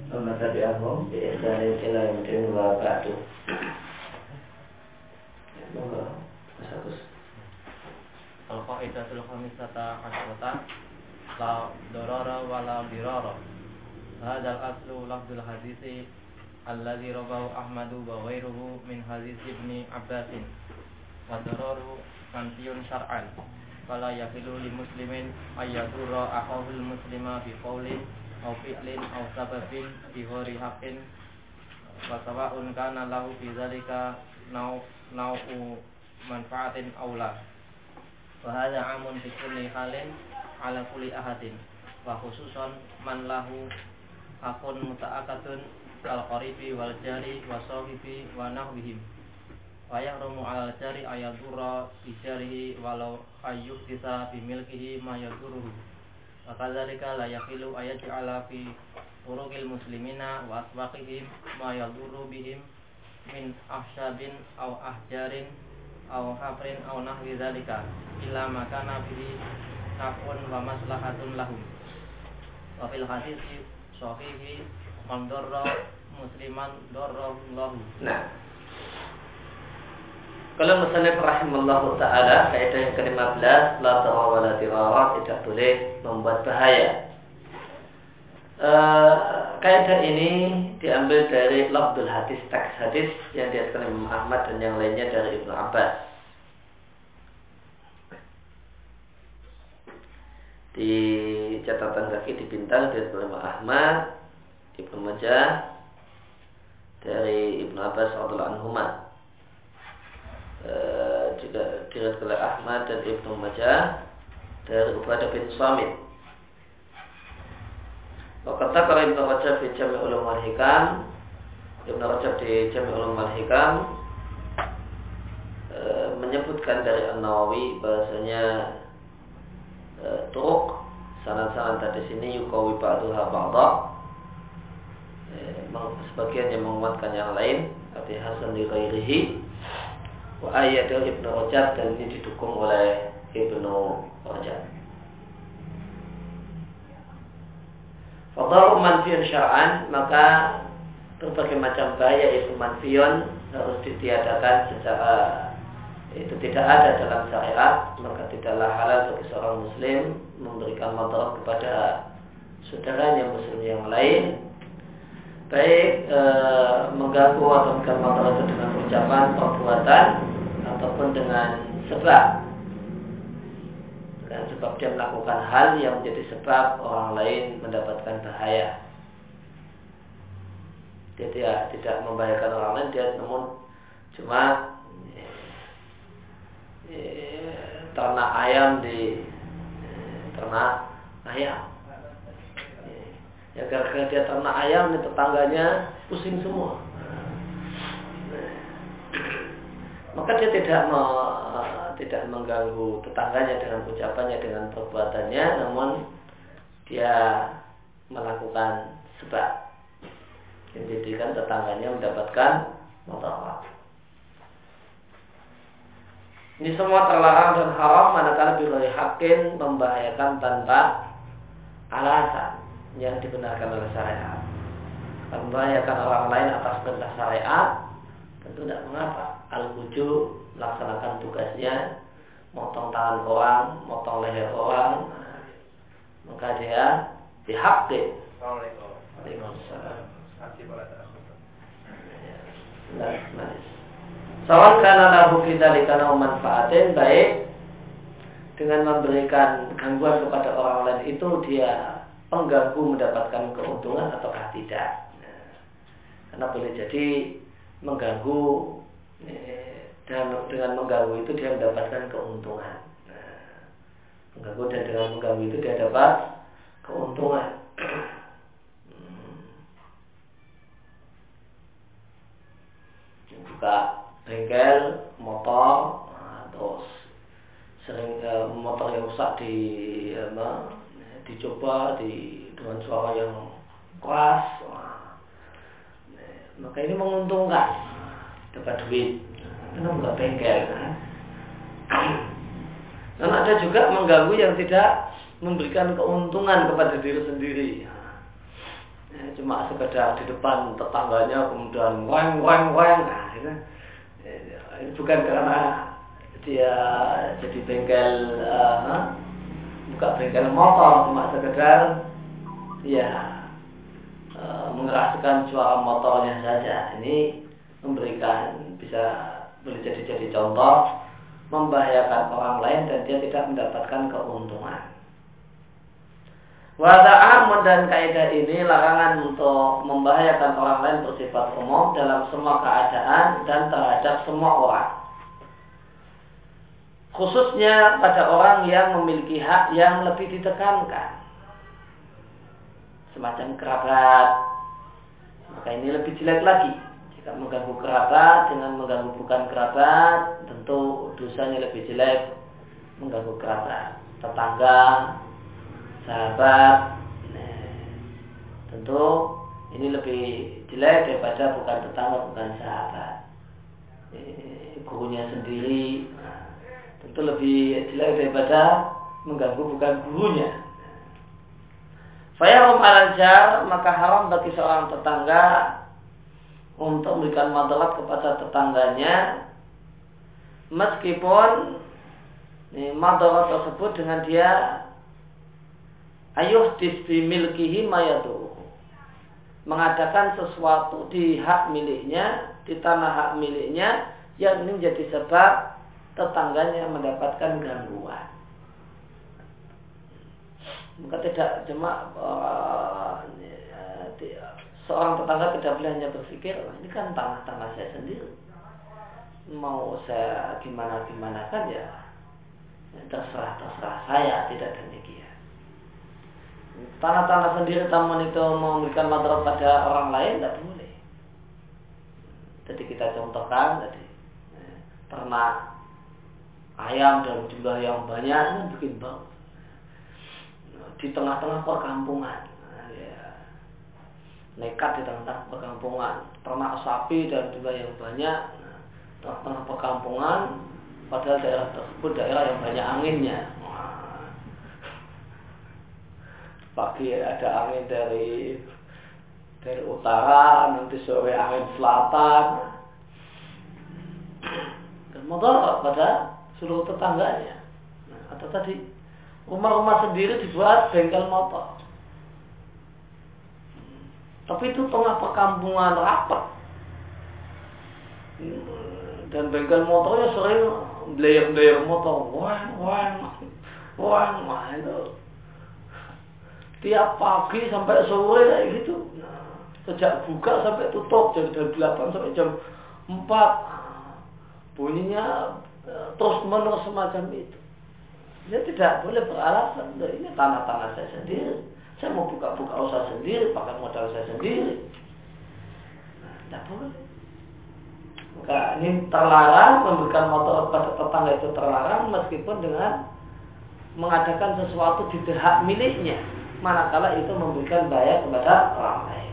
Amma tabi'ahum bi ihsanin ila yaumil wa ba'du. Monggo Mas Agus. Al-qaidatul khamisata asyrata la darara wa la dirara. Hadzal aslu lafzul hadisi alladzi rawahu Ahmadu wa ghairuhu min hadis Ibnu Abbas. Wa dararu manfiyun syar'an. Fala yahilu lil muslimin ayyadurra akhahul muslima bi qaulin aw fi'lin aw sababin bi ghairi haqqin wa sawa'un kana lahu fi dzalika nau'u manfaatin aw la. Wa hadza 'amun fi kulli halin 'ala kulli ahadin wa khususan man lahu akun muta'akkadun al-qaribi wal jari wa sahibi wa nahwihim. Wa yahrumu 'alal jari ayadurra bi jarihi walau ayyuhdisa bi milkihi ma yaduruhu. Wa kadzalika la yahilu ayaj'ala fi turuqil muslimina wa aswaqihim ma yadurru bihim min ahsyabin aw ahjarin aw hafrin aw nahwi dzalika illa ma kana bihi naf'un wa maslahatun lahum. Wa fil hadisi sahihi man darra musliman darrallahu. Nah, kalau musannif rahimallahu ta'ala, kaidah yang ke-15, la darara wa la dirara, tidak boleh membuat bahaya. Kaidah ini diambil dari lafzul hadis, teks hadis yang diatkan Imam Ahmad dan yang lainnya dari Ibnu Abbas. Di catatan kaki dipintal dari Imam Ahmad, Ibnu Majah, dari Ibnu Abbas radhiyallahu anhuma. Juga diriwayatkan oleh Ahmad dan Ibnu Majah dari Ubadah bin Samit. Kata kalau Ibnu Rajab di Jami' Ulumul Hikam, Ibnu Rajab di Jami' Ulumul Hikam menyebutkan dari An-Nawawi bahasanya turuk sanad-sanad tadi sini yuqawi ba'daha ba'dha, sebagian yang menguatkan yang lain, arti hasan li ghairihi. Wa ayyadahu Ibnu Rajab, dan ini didukung oleh Ibnu Rajab. Fadaru manfiyun syar'an, maka berbagai macam bahaya itu manfiyun harus ditiadakan secara itu tidak ada dalam syariat, maka tidaklah halal bagi seorang muslim memberikan madarat kepada saudaranya muslim yang lain, baik mengganggu atau memberikan madarat itu dengan ucapan, perbuatan ataupun dengan sebab. Dan sebab dia melakukan hal yang menjadi sebab orang lain mendapatkan bahaya. Dia tidak membahayakan orang lain, dia namun cuma ternak ayam di ternak ayam. Ya gara-gara dia ternak ayam, tetangganya pusing semua. Maka dia tidak mengganggu tetangganya dengan ucapannya, dengan perbuatannya, namun dia melakukan sebab yang menjadikan tetangganya mendapatkan madarat. Ini semua terlarang dan haram manakala bighairi haqqin, membahayakan tanpa alasan yang dibenarkan oleh syariat. Membahayakan orang lain atas perintah syariat tentu tidak mengapa. Al-wujub, melaksanakan tugasnya, motong tangan orang, motong leher orang, maka dia dihaqqin. Waalaikumsalam. Sawan kana lahu fidzalika manfaatin, baik dengan memberikan gangguan kepada orang lain itu dia pengganggu mendapatkan keuntungan ataukah tidak. Karena boleh jadi mengganggu, dan dengan mengganggu itu dia mendapatkan keuntungan. Mengganggu dan dengan mengganggu itu dia dapat keuntungan. Buka bengkel motor, terus sering motor yang rusak dicoba dengan suara yang keras, maka ini menguntungkan, dapat duit. Karena buka bengkel kan. Dan ada juga mengganggu yang tidak memberikan keuntungan kepada diri sendiri. cuma sekedar di depan tetangganya kemudian weng. Nah, ini bukan karena dia jadi bengkel buka bengkel motor, cuma sekedar mengeraskan suara motornya saja. Ini boleh jadi contoh membahayakan orang lain dan dia tidak mendapatkan keuntungan. Wada'amun, dan kaidah ini larangan untuk membahayakan orang lain bersifat umum dalam semua keadaan dan terhadap semua orang. Khususnya pada orang yang memiliki hak yang lebih ditekankan, semacam kerabat, maka ini lebih jelek lagi. Jika mengganggu kerabat dengan mengganggu bukan kerabat, tentu dosanya lebih jelek. Mengganggu kerabat, tetangga, sahabat, tentu ini lebih jelek daripada bukan tetangga, bukan sahabat. Gurunya sendiri, tentu lebih jelek daripada mengganggu bukan gurunya. Fayarum al-jar, maka haram bagi seorang tetangga untuk memberikan madarat kepada tetangganya, meskipun madarat tersebut dengan dia ayuhdis bi milkihi mayatu, mengadakan sesuatu di hak miliknya, di tanah hak miliknya, yang ini menjadi sebab tetangganya mendapatkan gangguan. Maka tidak cuma seorang tetangga tidak boleh hanya berpikir, ini kan tanah saya sendiri, mau saya gimana kan ya terserah saya, tidak demikian. Tanah sendiri taman itu memberikan madarat pada orang lain tidak boleh. Jadi kita contohkan tadi, ternak ayam dalam jumlah yang banyak ini bikin bau di tengah-tengah perkampungan, nekat di tengah-tengah perkampungan, ternak sapi dalam jumlah yang banyak, tengah-tengah perkampungan, padahal daerah tersebut daerah yang banyak anginnya. Pagi ada angin dari utara, nanti sore angin selatan, dan mudarat pada seluruh tetangganya. Atau tadi rumah-rumah sendiri dibuat bengkel motor, tapi itu tengah perkampungan rapat, dan bengkel motornya sering blayer motor, wah itu tiap pagi sampai sore kayak gitu. Sejak buka sampai tutup jam 8 sampai jam 4, bunyinya terus menerus semacam itu. Dia tidak boleh beralasan, ini tanah saya sendiri, saya mau buka usaha sendiri, pakai modal saya sendiri. Tidak boleh. Maka ini terlarang, memberikan motor pada tetangga itu terlarang, meskipun dengan mengadakan sesuatu di hak miliknya, manakala itu memberikan bahaya kepada orang lain.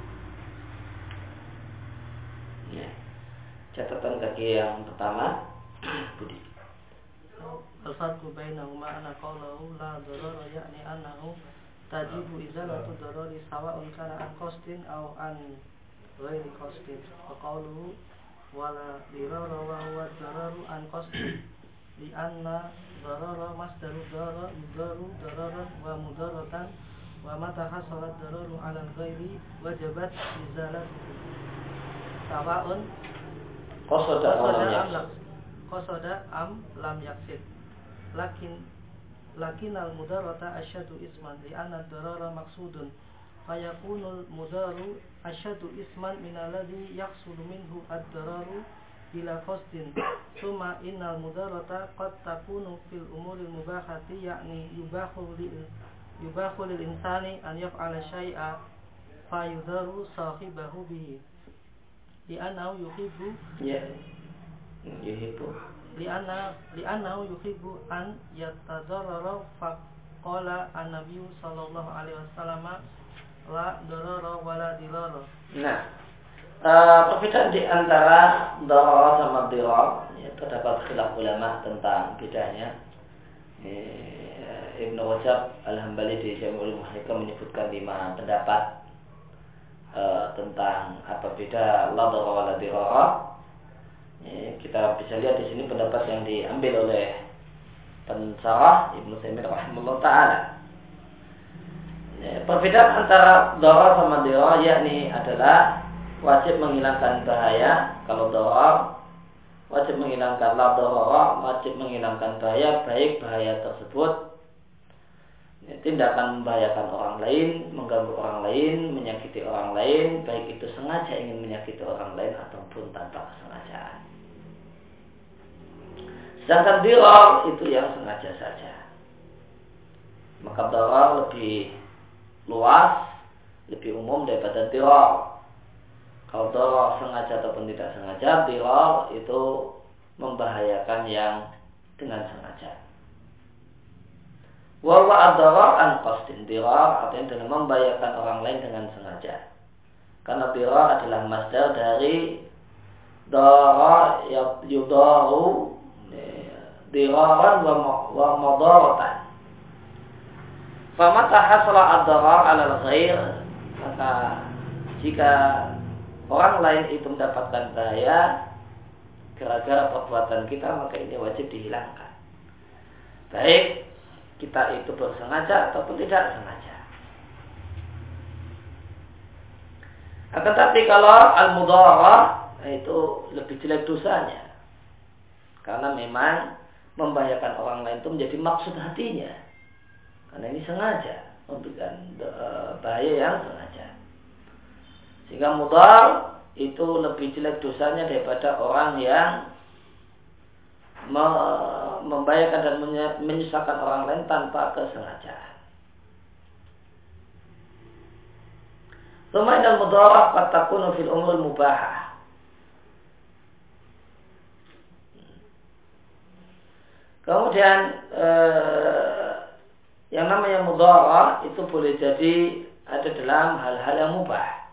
Ya. Catatan kaki yang pertama, Budi. Al-farqu bainahuma anna qawlahu la darara ya'ni annahu tajibu izalatu darari sawa'un kana an qasdin aw an ghairi qasdin. Wa qawluhu wala dirara wa huwa dararu an qasdin li anna darara masdaru darara yudaru dararan wa mudaratan wa mata hasala dararu 'ala al-ghairi wajabat izalatuhu sawa'un qasada am lam yaksid. Lakin al-mudarata asyadu isman li anna darara maksudun fayakunul mudaru asyadu isman minalladhi yaksulu minhu ad-dararu bila qasdin. Summa innal mudarata qad takunu fil umuril mubahati yakni yubahu lil insani an yaf'ala syai'a fayudaru sahibahu bihi li'annahu yuhibbu li'annahu yuhibbu an yatadarrara faqala an-nabiy sallallahu alaihi wasallam la darara wala dirara. Nah, perbedaan di antara darar sama dirar, ya, terdapat khilaf ulama tentang bedanya. Ibnu Rajab Al-Hambali di Jami'ul Muhakam menyebutkan 5 pendapat tentang apa beda la darara wa la dirara. Kita bisa lihat di sini pendapat yang diambil oleh pensarah Ibnu Taimiyah rahimahullah taala. Perbedaan antara darar sama dirar yakni adalah wajib menghilangkan bahaya. Kalau darar wajib menghilangkan la darara, wajib menghilangkan bahaya, baik bahaya tersebut tidak akan membahayakan orang lain, mengganggu orang lain, menyakiti orang lain, baik itu sengaja ingin menyakiti orang lain ataupun tanpa kesengajaan. Sedangkan dirar itu yang sengaja saja. Maka darar lebih luas, lebih umum daripada dirar. Kalau darar sengaja ataupun tidak sengaja, dirar itu membahayakan yang dengan sengaja. Wa ad-darar an qasdin, dirar artinya adalah membahayakan orang lain dengan sengaja. Karena dirar adalah masdar dari dara yudaru diraran wa madaratan. Famata hasala ad-darar 'ala al-ghair, maka jika orang lain itu mendapatkan bahaya gara-gara perbuatan kita, maka ini wajib dihilangkan. Baik kita itu bersengaja ataupun tidak sengaja. Akan tapi kalau al-mudarah itu lebih jelek dosanya, karena memang membahayakan orang lain itu menjadi maksud hatinya, karena ini sengaja memberikan bahaya yang sengaja. Sehingga mudar itu lebih jelek dosanya daripada orang yang membahayakan dan menyusahkan orang lain tanpa kesengajaan. Tsumma innal mudarah qad takunu fil umuril mubahah. Kemudian yang namanya mudarah itu boleh jadi ada dalam hal-hal yang mubah.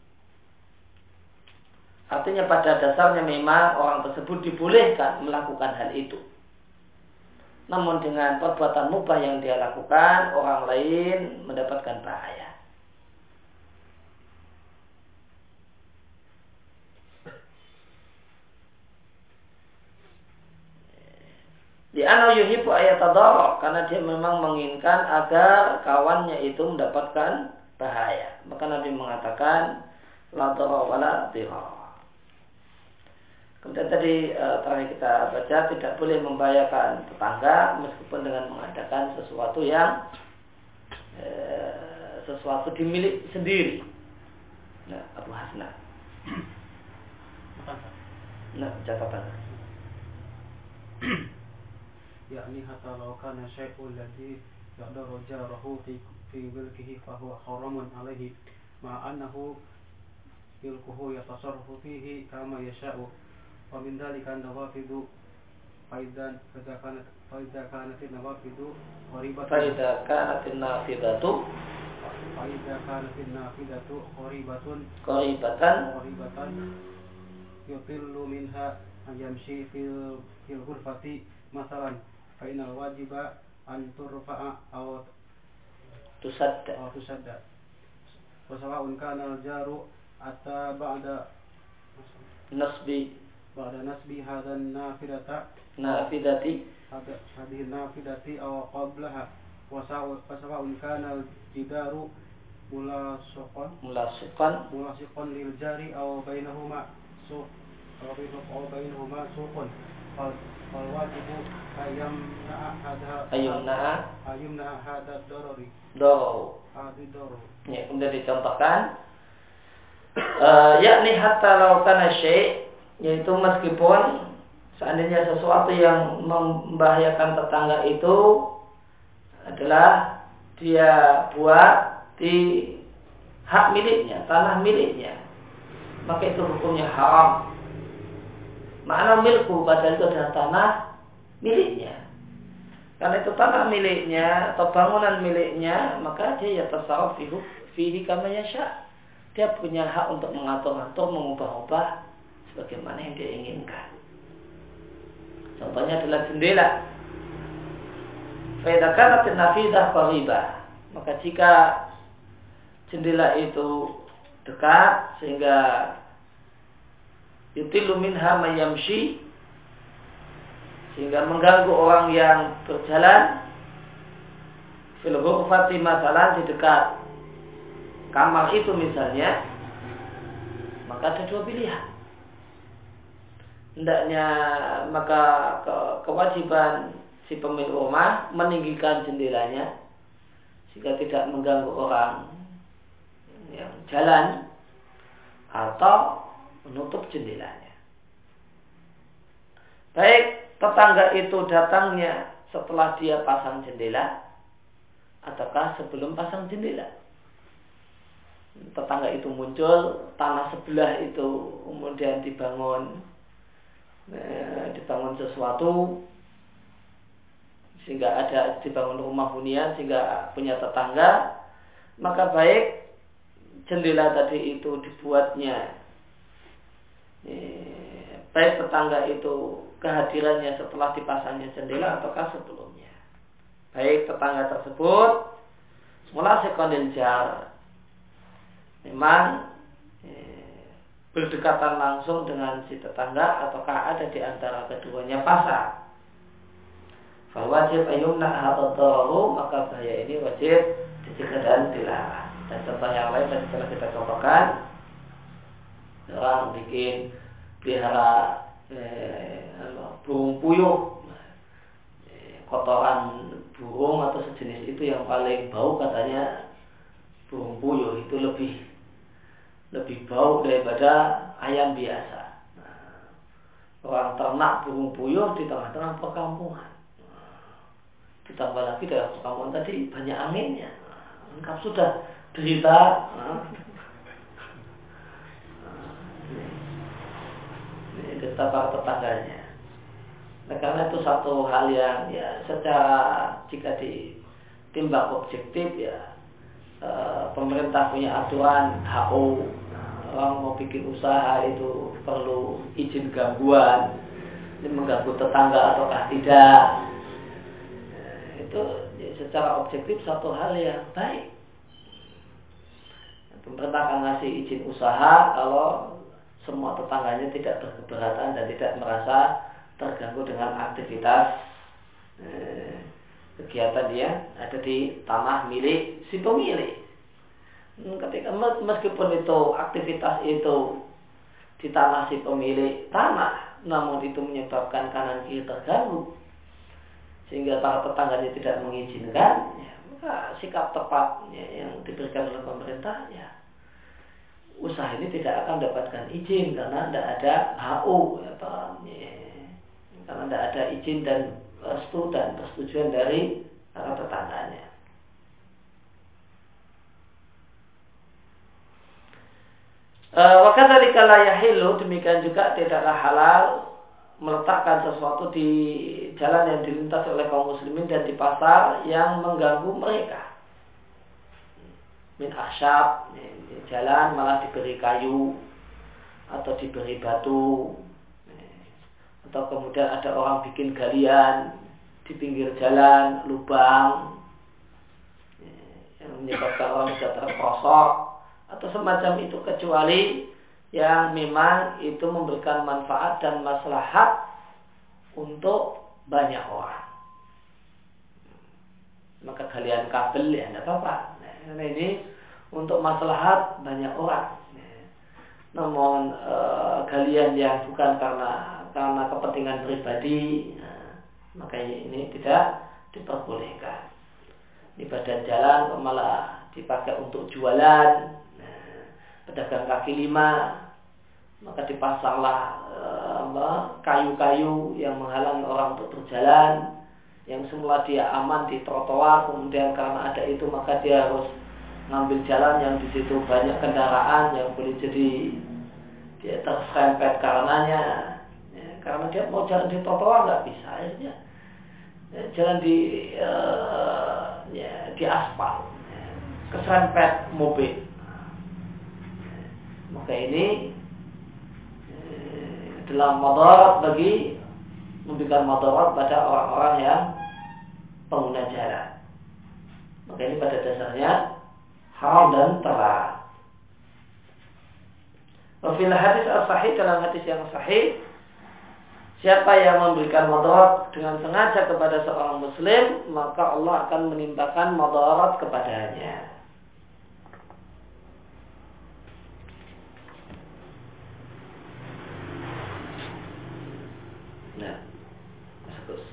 Artinya pada dasarnya memang orang tersebut dibolehkan melakukan hal itu. Namun dengan perbuatan mubah yang dia lakukan, orang lain mendapatkan bahaya. Li'annahu yuhibbu ayatadarra, karena dia memang menginginkan agar kawannya itu mendapatkan bahaya. Maka Nabi mengatakan la darara wa la dirara. Kemudian tadi terakhir kita baca tidak boleh membahayakan tetangga meskipun dengan mengadakan sesuatu yang sesuatu dimiliki sendiri. Nah, Abu Hasna. Nah, catatan. yakni hatta law kana syai'ul ladzi yaqdaru jarahu fi milkihi fa huwa haramun alaihi ma annahu milkuhu yatasarrafu fihi kama yasha'u. ومن ذلك النوافذ فإذا كانت النوافذ قريبة قريبة يطل منها أن يمشي في الغرفة مثلا فإن الواجب أن ترفع أو تسد وسواء كان الجار أتى بعد نصب هذا النافذة هذه النافذة أو قبلها وسواء كان الجدار ملاصقا للجار أو بينهما سوق فالواجب أن يمنع هذا الضرر. Ya, kemudian dicontohkan yakni hatta law kana syai', yaitu meskipun seandainya sesuatu yang membahayakan tetangga itu adalah dia buat di hak miliknya, tanah miliknya, maka itu hukumnya haram. Makna milku padahal itu adalah tanah miliknya. Karena itu tanah miliknya atau bangunan miliknya, maka dia yatasarraf fihi kama yasha. Dia punya hak untuk mengatur-atur, mengubah-ubah sebagaimana yang dia inginkan. Contohnya adalah jendela. Fa idza kanat an-nafidah qaribah, maka jika jendela itu dekat sehingga yutilu minha man yamshi, sehingga mengganggu orang yang berjalan fil ghurfati masalan di dekat kamar itu misalnya, maka ada dua pilihan. Hendaknya maka kewajiban si pemilik rumah meninggikan jendelanya sehingga tidak mengganggu orang yang jalan, atau menutup jendelanya. Baik tetangga itu datangnya setelah dia pasang jendela ataukah sebelum pasang jendela. Tetangga itu muncul, tanah sebelah itu kemudian dibangun sesuatu sehingga ada dibangun rumah hunian sehingga punya tetangga, maka baik jendela tadi itu dibuatnya, baik tetangga itu kehadirannya setelah dipasangnya jendela ataukah sebelumnya. Baik tetangga tersebut semula sekonil jar memang berdekatan langsung dengan si tetangga ataukah ada di antara keduanya pasar. Fal wajib ayumna hadarahu, maka bahaya ini wajib dicegah dan dilarang. Dan contoh yang lain tadi telah kita contohkan, orang bikin pelihara burung puyuh, kotoran burung atau sejenis itu yang paling bau katanya burung puyuh itu lebih bau daripada ayam biasa. Orang ternak burung puyuh di tengah-tengah perkampungan. Ditambah lagi dalam perkampungan tadi banyak anginnya. Lengkap sudah derita. Ini derita para tetangganya. Nah, karena itu satu hal yang ya secara jika ditimbang objektif ya pemerintah punya aturan HO. Orang mau bikin usaha itu perlu izin gangguan, ini mengganggu tetangga ataukah tidak. Itu secara objektif satu hal yang baik. Pemerintah akan ngasih izin usaha kalau semua tetangganya tidak berkeberatan dan tidak merasa terganggu dengan aktivitas kegiatan dia ada di tanah milik si pemilik. Ketika meskipun itu aktivitas itu di tanah si pemilik tanah, namun itu menyebabkan kanan kiri terganggu sehingga para tetangganya tidak mengizinkan, ya, maka sikap tepat ya, yang diberikan oleh pemerintah ya, usaha ini tidak akan mendapatkan izin karena tidak ada HU ya, karena tidak ada izin dan restu dan persetujuan dari para tetangganya. Wakadzalika la yahillu, demikian juga tidaklah halal meletakkan sesuatu di jalan yang dilintasi oleh kaum muslimin dan di pasar yang mengganggu mereka. Min akhsyab, di jalan malah diberi kayu atau diberi batu, atau kemudian ada orang bikin galian di pinggir jalan, lubang yang menyebabkan orang bisa terperosok atau semacam itu, kecuali yang memang itu memberikan manfaat dan maslahat untuk banyak orang. Maka galian kabel ya tidak apa-apa. Nah, ini untuk maslahat banyak orang. Namun galian yang bukan karena kepentingan pribadi, maka ini tidak diperbolehkan. Di badan jalan malah dipakai untuk jualan. Pedagang kaki lima, maka dipasanglah kayu-kayu yang menghalangi orang untuk berjalan, yang semula dia aman di trotoar, kemudian karena ada itu maka dia harus ngambil jalan yang di situ banyak kendaraan yang boleh jadi dia terserempet karenanya, ya, karena dia mau jalan di trotoar nggak bisa, akhirnya ya, jalan di aspal, ya, keserempet mobil. Maka ini adalah madarat memberikan madarat pada orang-orang yang pengguna jalan. Maka ini pada dasarnya haram dan terlarang. Fil hadis as-sahih, dalam hadis yang sahih, siapa yang memberikan madarat dengan sengaja kepada seorang muslim, maka Allah akan menimpakan madarat kepadanya. Nah, terus.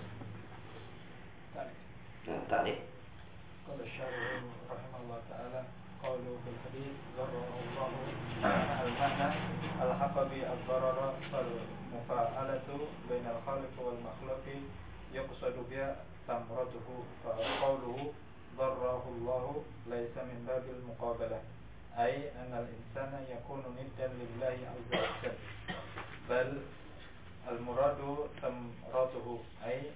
Tadi. Qala syarih rahimahullah ta'ala qawlu fil hadis zarrahu al-mana al-haqqa bi ad-darara fal mufa'alatu bainal khaliq wal makhluqi yuqsadu biha tamratuhu fa qawluhu darrahu Allah laysa min babil muqabalah ay anna al-insana yakunu niddan lillahi azza wa jalla bal al-muradu tamratuhu ay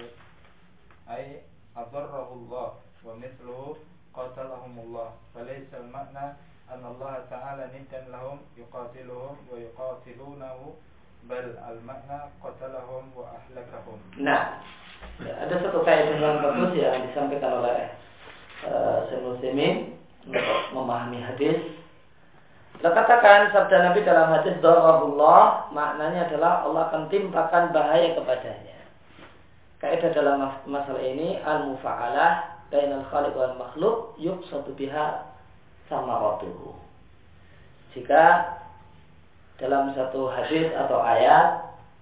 adarrahu Allah wa mithluhu qatalahumullah falaysa al-ma'na anna Allah ta'ala niddan lahum yuqatiluhum wa yuqatilunahu bal al-ma'na qatalahum wa ahlakahum. Nah, ada satu kaidah yang bagus yang disampaikan oleh Syekh Utsaimin untuk memahami hadis. Kita katakan sabda Nabi dalam hadis darabullah, maknanya adalah Allah akan timpakan bahaya kepadanya. Kaidah dalam masalah ini al-mufa'alah bainal khaliq wal makhluk yuqsadu biha samaratuhu. Jika dalam satu hadis atau ayat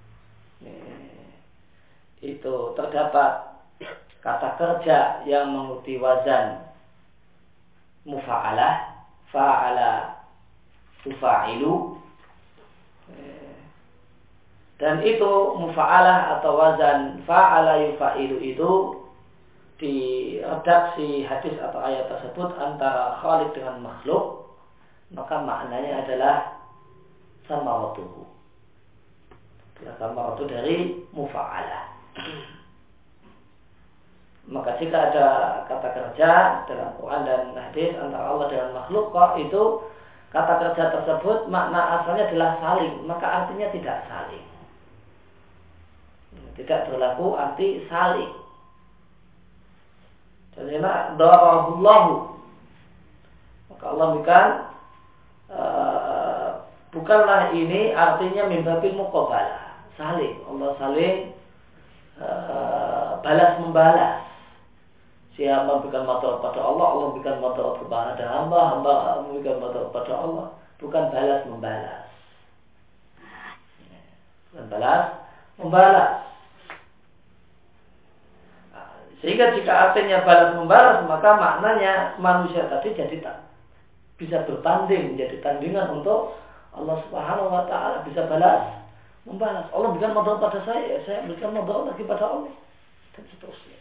itu terdapat kata kerja yang mengikuti wazan mufa'alah, fa'ala tufa'ilu, dan itu mufa'alah atau wazan fa'ala yufa'ilu itu di redaksi hadis atau ayat tersebut antara khaliq dengan makhluk, maka maknanya adalah samaratuhu. Samaratu dari mufa'alah. Maka jika ada kata kerja dalam Quran dan hadis antara Allah dengan makhluk, kok itu kata kerja tersebut makna asalnya adalah saling, maka artinya tidak saling. Tidak berlaku arti saling. Jadi darahullahu, maka Allah berikan bukanlah ini artinya min babil muqabalah, saling. Allah saling balas membalas. Siapa memberikan madarat pada Allah, Allah memberikan madarat kepada hamba, hamba memberikan madarat pada Allah. Bukan balas membalas. Bukan balas membalas. Sehingga jika artinya balas membalas, maka maknanya manusia tadi jadi tak bisa bertanding, menjadi tandingan untuk Allah Subhanahu wa ta'ala, bisa balas membalas. Allah berikan madarat pada saya berikan madarat lagi pada Allah, dan seterusnya.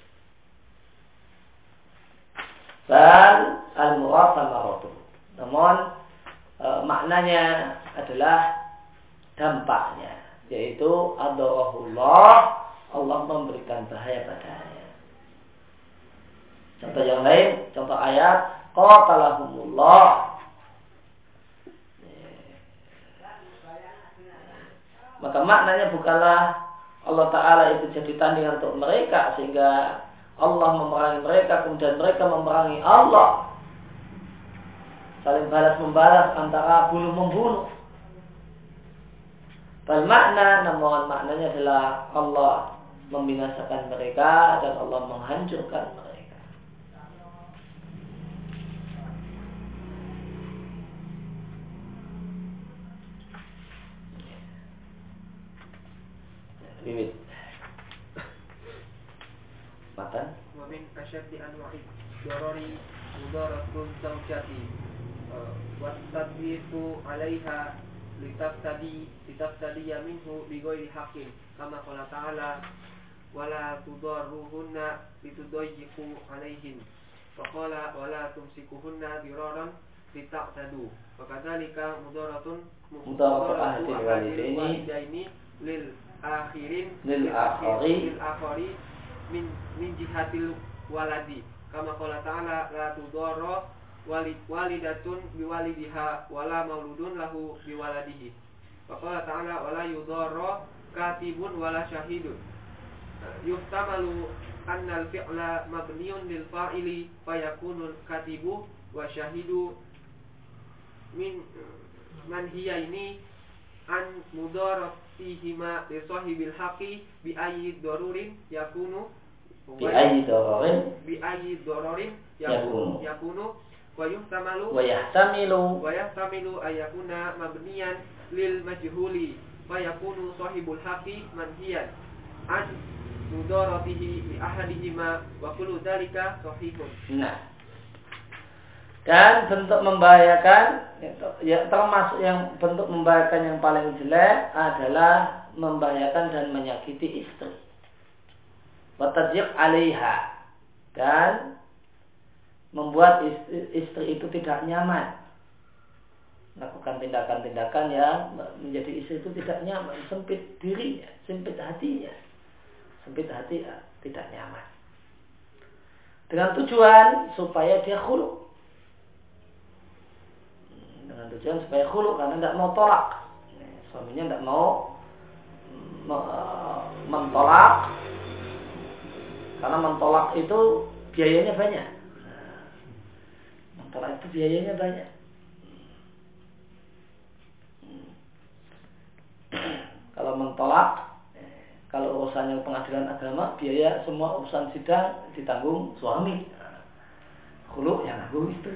Dan al-murad samaratu. Namun maknanya adalah dampaknya, yaitu adarahullah, Allah memberikan bahaya padanya. Contoh yang lain, contoh ayat qatalahumullah. Maka maknanya bukanlah Allah Ta'ala itu jadi tandingan untuk mereka sehingga Allah memerangi mereka, kemudian mereka memerangi Allah. Saling balas membalas antara bunuh membunuh. Bermakna, namun maknanya adalah Allah membinasakan mereka dan Allah menghancurkan mereka. Limit matan wa min asyaddi anwa'i darari mudaratul zawjati wa tadbiqu 'alaiha litaftadi minhu bi ghairi haqqin kama qala ta'ala wala tudarruhunna litudayyiqu 'alaihin fa qala wala tumsikuhunna diraran litaqtadu wa kadzalika mudaratun walidaini lil akhari min jihatil waladi kama qala ta'ala la tudarra walidatun biwalidiha wala mauludun lahu biwaladihi wa qala ta'ala wala yudarra katibun wala syahidun yuhtamalu anna al-fi'la mabniun lil fa'ili fayakunu katibu wa syahidu min manhiyaini an mudaratihima li sahibil haqqi bi ayyi darurin yakunu bi ayyi dararin yakunu wa yahtamilu ayakuna mabniyan lil majhuli wa yakunu sahibul haqqi manhiyan an mudaratihi bi ahadihima wa kullu dzalika sahihun. Nah, dan bentuk membahayakan, ya, termasuk yang bentuk membahayakan yang paling jelek adalah membahayakan dan menyakiti istri. Wa tadyiq 'alaiha, dan membuat istri itu tidak nyaman, melakukan tindakan-tindakan yang menjadi istri itu tidak nyaman, sempit dirinya, sempit hatinya, tidak nyaman, dengan tujuan supaya dia khulu, karena tidak mau tolak, suaminya tidak mau mentolak, karena mentolak itu biayanya banyak. Mentolak itu biayanya banyak. Kalau mentolak, kalau urusannya pengadilan agama, biaya semua urusan sidang ditanggung suami. Khulu yang nanggung istri.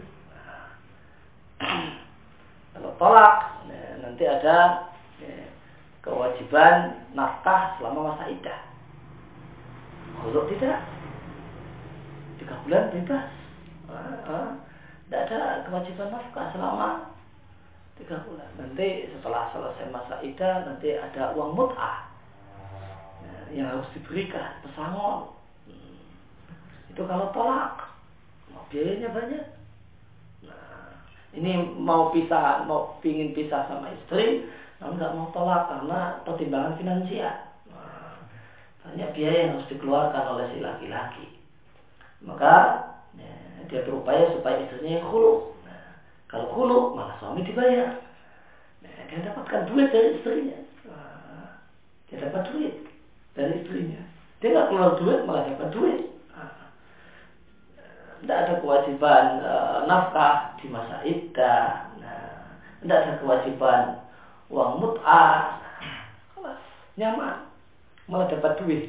Kalau tolak, nanti ada kewajiban nafkah selama masa iddah. Khulu tidak, 3 bulan bebas. Tidak ada kewajiban nafkah selama 3 bulan. Nanti setelah selesai masa iddah, nanti ada uang mut'ah yang harus diberikan, pesangon. Itu kalau tolak, biayanya banyak. Nah, ini mau pingin pisah sama istri, namun nggak mau tolak karena pertimbangan finansial. Banyak biaya yang harus dikeluarkan oleh si laki-laki. Maka dia berupaya supaya istrinya yang khulu. Kalau khulu, malah suami dibayar. Dia dapatkan duit dari istrinya. Dia dapat duit dari istrinya. Dia nggak keluar duit, malah dapat duit. Tidak ada kewajiban nafkah di masa iddah. Tidak ada kewajiban uang mut'ah. Nyaman, malah dapat duit.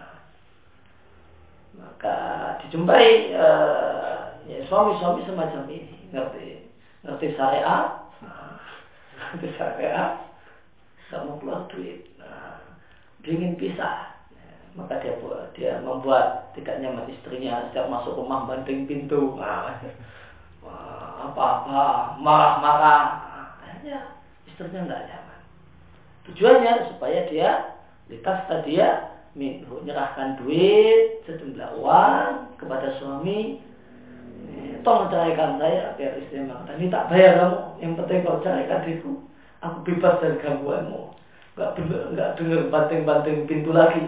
Maka dijumpai suami-suami semacam ini, ngerti syariat, nggak mau keluar duit, ingin pisah, maka dia membuat tidak nyaman istrinya. Setiap masuk rumah banting pintu, apa-apa, marah-marah, akhirnya istrinya nggak nyaman. Tujuannya supaya dia menyerahkan duit sejumlah uang kepada suami. Tolong ceraikan saya, biar istri mengatakan, ini tak bayar kamu, yang penting kau ceraikan diriku, aku bebas dari gangguanmu, nggak dengar banting-banting pintu lagi.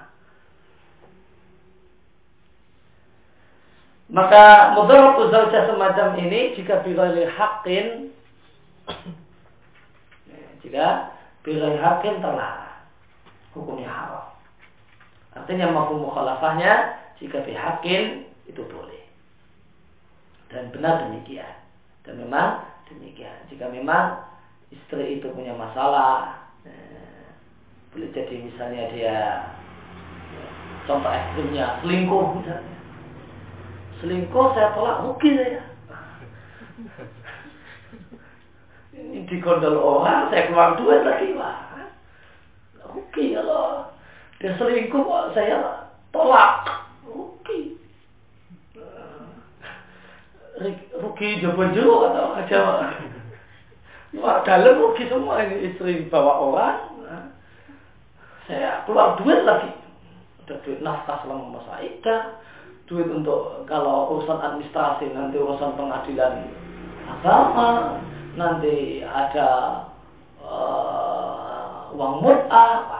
Maka mudharatu zaujah semacam ini jika bighairi haqqin, terlarang, hukumnya haram. Artinya mafhum mukhalafahnya, jika bihaqqin itu boleh. Dan benar demikian. Dan memang demikian. Jika memang istri itu punya masalah, boleh jadi misalnya dia, contoh ekstrimnya, selingkuh misalnya. Selingkuh saya tolak, rugi saya. Ini digondol orang, saya keluar duit lagi, wah. Rugi kalau dia selingkuh, saya tolak, rugi. Rugi jauh-jauh atau aja. Wah, dalam rugi semua ini, istri bawa orang. Saya keluar duit lagi. Ada duit nafkah selama masa iddah, duit untuk kalau urusan administrasi, nanti urusan pengadilan agama, nanti ada uang mut'ah.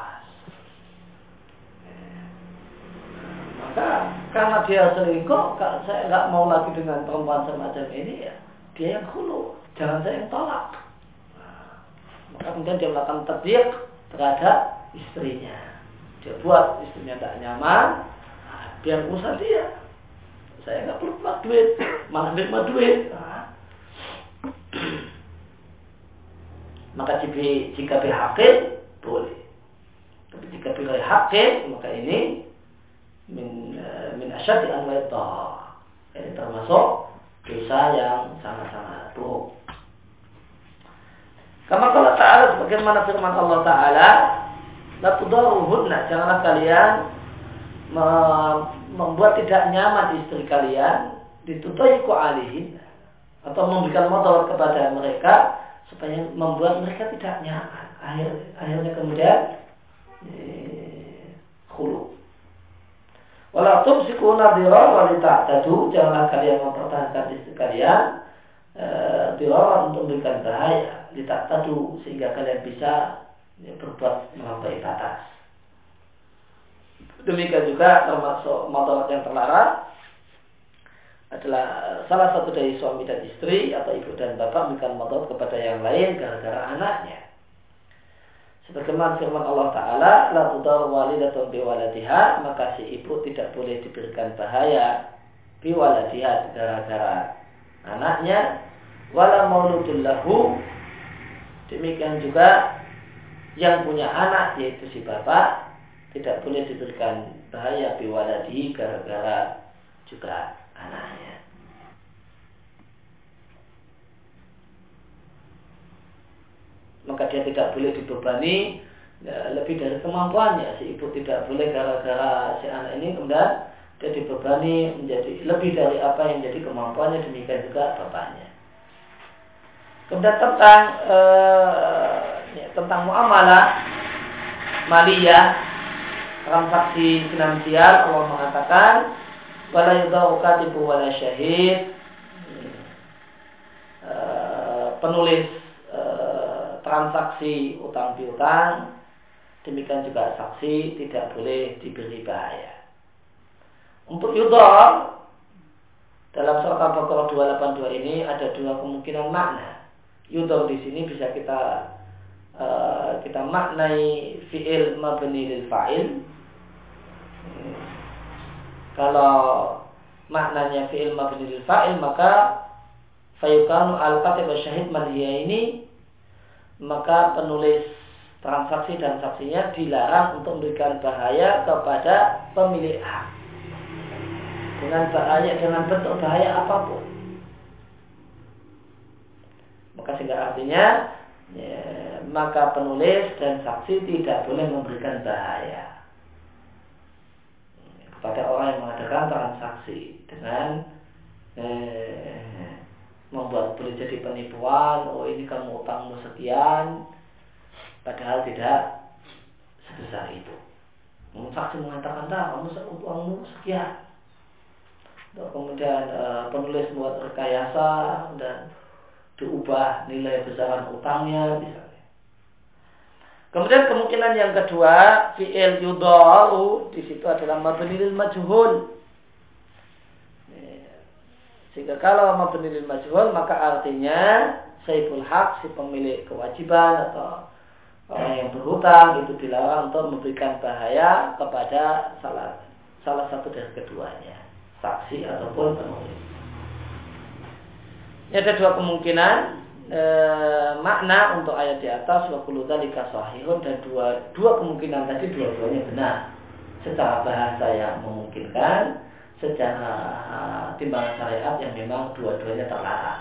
Maka karena dia selingkuh, saya nggak mau lagi dengan perempuan semacam ini, ya dia yang khulu, jangan saya yang tolak. Maka kemudian dia melakukan tadyiq terhadap istrinya. Dia buat istrinya tak nyaman, biar urusan dia. Saya nggak perlu keluar duit, malah nerima duit. maka jika bihaqqin boleh. Tapi jika bighairi haqqin, maka ini min asyaddi anwa'i dhar. Ini termasuk dosa yang sangat-sangat buruk. Kama qala ta'ala, sebagaimana firman Allah Ta'ala, la tudaruhunna, janganlah kalian membuat tidak nyaman istri kalian, ditutaiku alihin, atau memberikan motor kepada mereka supaya membuat mereka tidak nyaman. Akhirnya kemudian khulu. Wala tumsikuna dirar wa lita'tadu, janganlah kalian mempertahankan istri kalian dirar untuk memberikan bahaya, lita'tadu, sehingga kalian bisa berbuat melampaui batas. Demikian juga termasuk motor yang terlarang adalah salah satu dari suami dan istri atau ibu dan bapak memberikan motor kepada yang lain gara-gara anaknya. Sebagaimana firman Allah Ta'ala, la tudar walidatun biwaladiha, maka si ibu tidak boleh diberikan bahaya biwaladiha gara-gara anaknya, wala mauludun lahu, demikian juga yang punya anak yaitu si bapak tidak boleh diberikan bahaya biwaladihi gara-gara juga anaknya. Maka dia tidak boleh dibebani lebih dari kemampuannya. Si ibu tidak boleh gara-gara si anak ini kemudian dia dibebani menjadi lebih dari apa yang jadi kemampuannya, demikian juga bapaknya. Kemudian tentang muamalah maliyah, transaksi finansial, Allah mengatakan wala yudau katibu wala syahid, penulis transaksi utang piutang, demikian juga saksi tidak boleh diberi bahaya. Untuk yudhar dalam surat Al-Baqarah 282 ini ada dua kemungkinan makna. Yudhar di sini bisa kita maknai fi'il mabni lil fa'il. Kalau maknanya fi'il mabni lil fa'il, maka fayukanu al-katib syahid manhiya ini, maka penulis transaksi dan saksinya dilarang untuk memberikan bahaya kepada pemilik hak dengan bentuk bahaya apapun. Maka sehingga artinya maka penulis dan saksi tidak boleh memberikan bahaya kepada orang yang mengadakan transaksi dengan membuat boleh jadi penipuan. Oh, ini kamu utangmu sekian, padahal tidak sebesar itu. Saksi mengatakan kamu utangmu sekian. Kemudian penulis membuat rekayasa dan diubah nilai besaran utangnya misalnya. Kemudian kemungkinan yang kedua, fi'il yudharu di situ adalah mabni lil majhul. Sehingga kalau mabni lil majhul, maka artinya saibul haq, si pemilik kewajiban atau orang yang berhutang itu dilarang untuk memberikan bahaya kepada salah satu dari keduanya, saksi ataupun penulis. Ini ada dua kemungkinan makna untuk ayat di atas, wa kullu dzalika shahihun, dan dua kemungkinan tadi dua-duanya benar secara bahasa yang memungkinkan, secara timbangan syariat yang memang dua-duanya terlarang.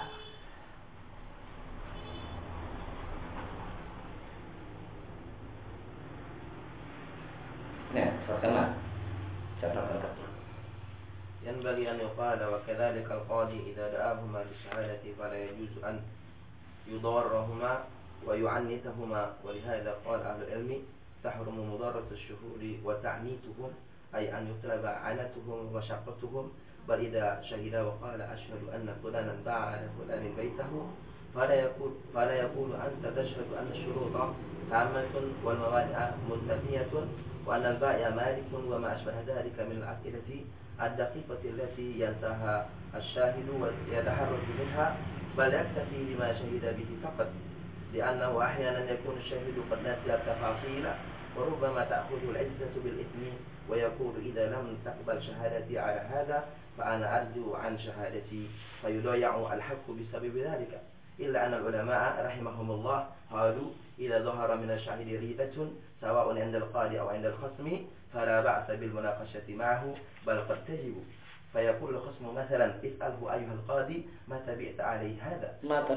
Nah, sama catatan kedua. ينبغي أن يقال وكذلك القاضي إذا دعاهما للشهادة فلا يجوز أن يضارهما ويعنتهما، ولهذا قال أهل العلم تحرم مضارة الشهود وتعنيتهم، أي أن يطلب عنتهم ومشقتهم. بل إذا شهد وقال أشهد أن فلانا باع على فلان بيته فلا يقول أنت تشهد أن الشروط تامة والموانع منتفية وأن البائع مالك وما أشبه ذلك من الأسئلة الدقيقة التي ينساها الشاهد ويتحرك منها، بل يكتفي بما شهد به فقط، لأنه أحيانا يكون الشاهد قد نسي التفاصيل وربما تأخذ العزة بالإثم ويقول إذا لم تقبل شهادتي على هذا فأنا أرجو عن شهادتي، فيضيع الحق بسبب ذلك. إلا أن العلماء رحمهم الله قالوا إذا ظهر من الشاهد ريبة سواء عند القاضي أو عند الخصم فلا بأس بالمناقشة معه بل قد تجب. فيقول الخصم مثلا اسأله أيها القاضي ما تبعت عليه هذا